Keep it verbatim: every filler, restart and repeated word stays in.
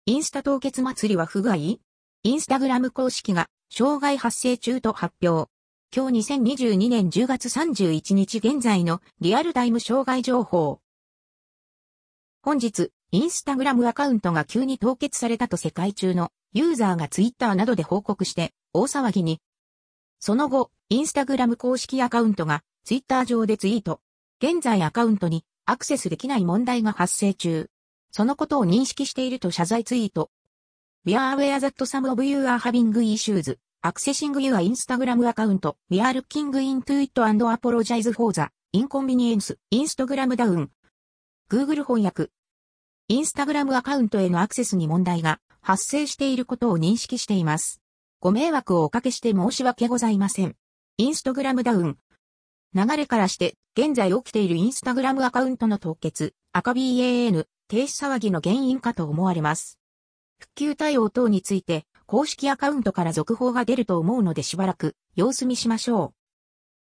インスタ凍結祭りは不具合？インスタグラム公式が障害発生中と発表。今日にせんにじゅうにねんじゅうがつさんじゅういちにち現在のリアルタイム障害情報。本日、インスタグラムアカウントが急に凍結されたと世界中のユーザーがツイッターなどで報告して大騒ぎに。その後、インスタグラム公式アカウントがツイッター上でツイート。現在アカウントにアクセスできない問題が発生中。そのことを認識していると謝罪ツイート。We are aware that some of you are having issues accessing your Instagram account. We are looking into it and apologize for the inconvenience. Instagram down. Google 翻訳。インスタグラムアカウントへのアクセスに問題が発生していることを認識しています。ご迷惑をおかけして申し訳ございません。インスタグラムダウン。流れからして、現在起きているインスタグラムアカウントの凍結、赤 バン、停止騒ぎの原因かと思われます。復旧対応等について、公式アカウントから続報が出ると思うのでしばらく様子見しましょう。